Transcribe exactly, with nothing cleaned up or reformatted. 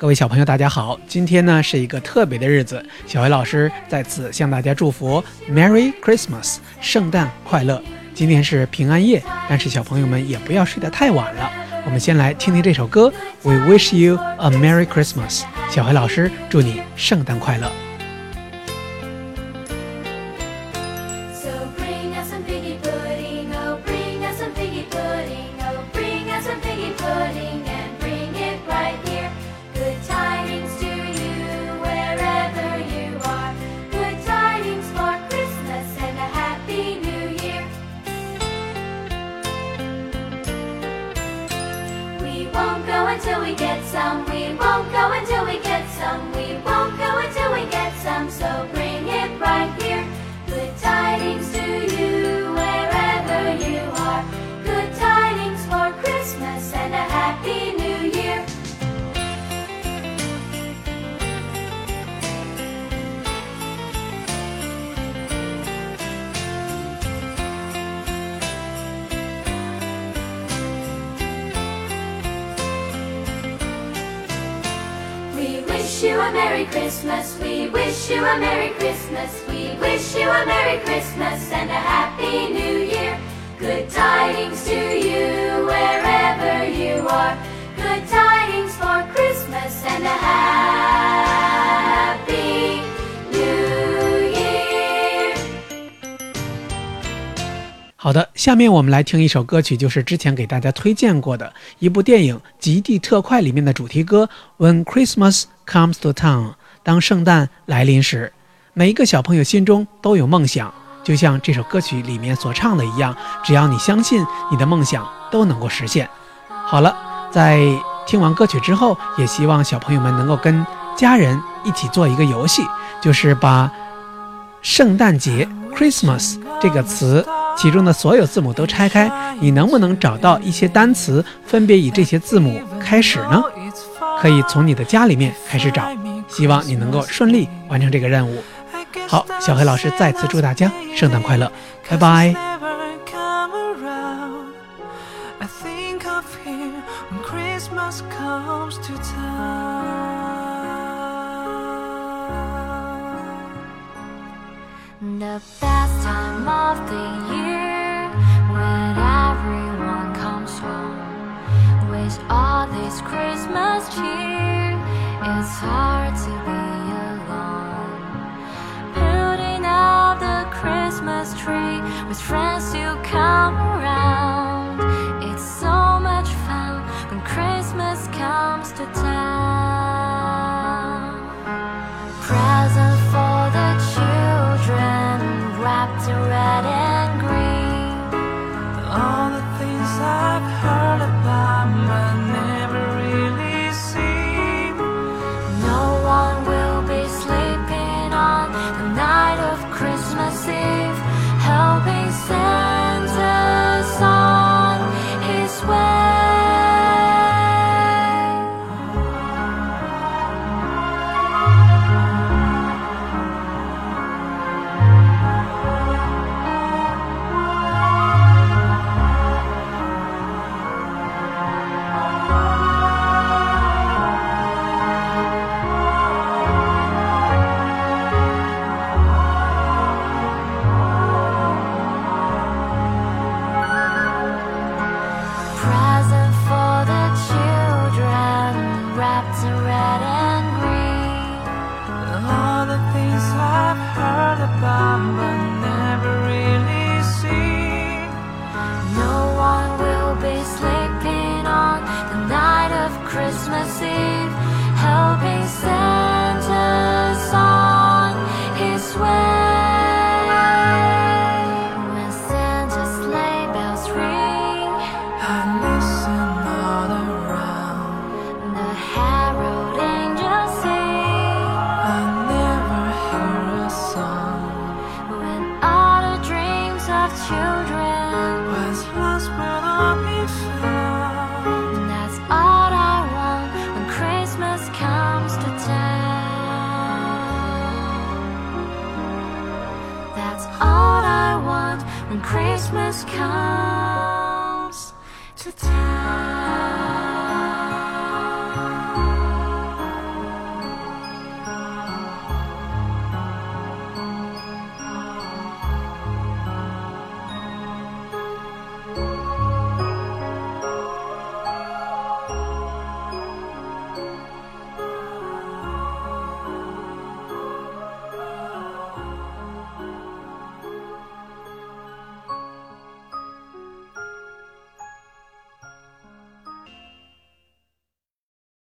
各位小朋友大家好，今天呢是一个特别的日子，小薇老师在此向大家祝福 Merry Christmas， 圣诞快乐。今天是平安夜，但是小朋友们也不要睡得太晚了。我们先来听听这首歌 We wish you a Merry Christmas， 小薇老师祝你圣诞快乐。 Until we get some, we won't go until we get some, we won't go until we get some, so bring it right here. Good tidings to you wherever you are, good tidings for Christmas and a happy new year. We wish you a Merry Christmas, we wish you a Merry Christmas, we wish you a Merry Christmas and a Happy New Year. Good tidings to you wherever you are, good tidings for Christmas and a Happy New Year. 好的，下面我们来听一首歌曲，就是之前给大家推荐过的一部电影《极地特快》里面的主题歌 When Christmas Comes to Town， 当圣诞来临时。每一个小朋友心中都有梦想，就像这首歌曲里面所唱的一样，只要你相信，你的梦想都能够实现。好了，在听完歌曲之后，也希望小朋友们能够跟家人一起做一个游戏，就是把圣诞节 Christmas 这个词其中的所有字母都拆开，你能不能找到一些单词分别以这些字母开始呢？可以从你的家里面开始找，希望你能够顺利完成这个任务。好，小黑老师再次祝大家圣诞快乐，拜拜。 The best time of the year, when everyone comes home with all this Christmas cheer, it's hard to be alone. Putting up the Christmas tree with friends to come around, it's so much fun when Christmas comes to town. Present for the children, wrapped in red and green. All the things I've heard about but never really seen. No one will be sleeping on the night of Christmas Eve, helping Santa on his way. Present for the children, wrapped in red and green. All the things I've heard about but never really seen. No one will be sleeping on the night of Christmas Eve, helping Santa on his way. When Santa's sleigh bells ring, I listen all around. the herald angels sing. I never hear a song. When all the dreams of children, Was lost but I'll be found. that's all I want when Christmas comes to town. That's all I want when Christmas comes to town.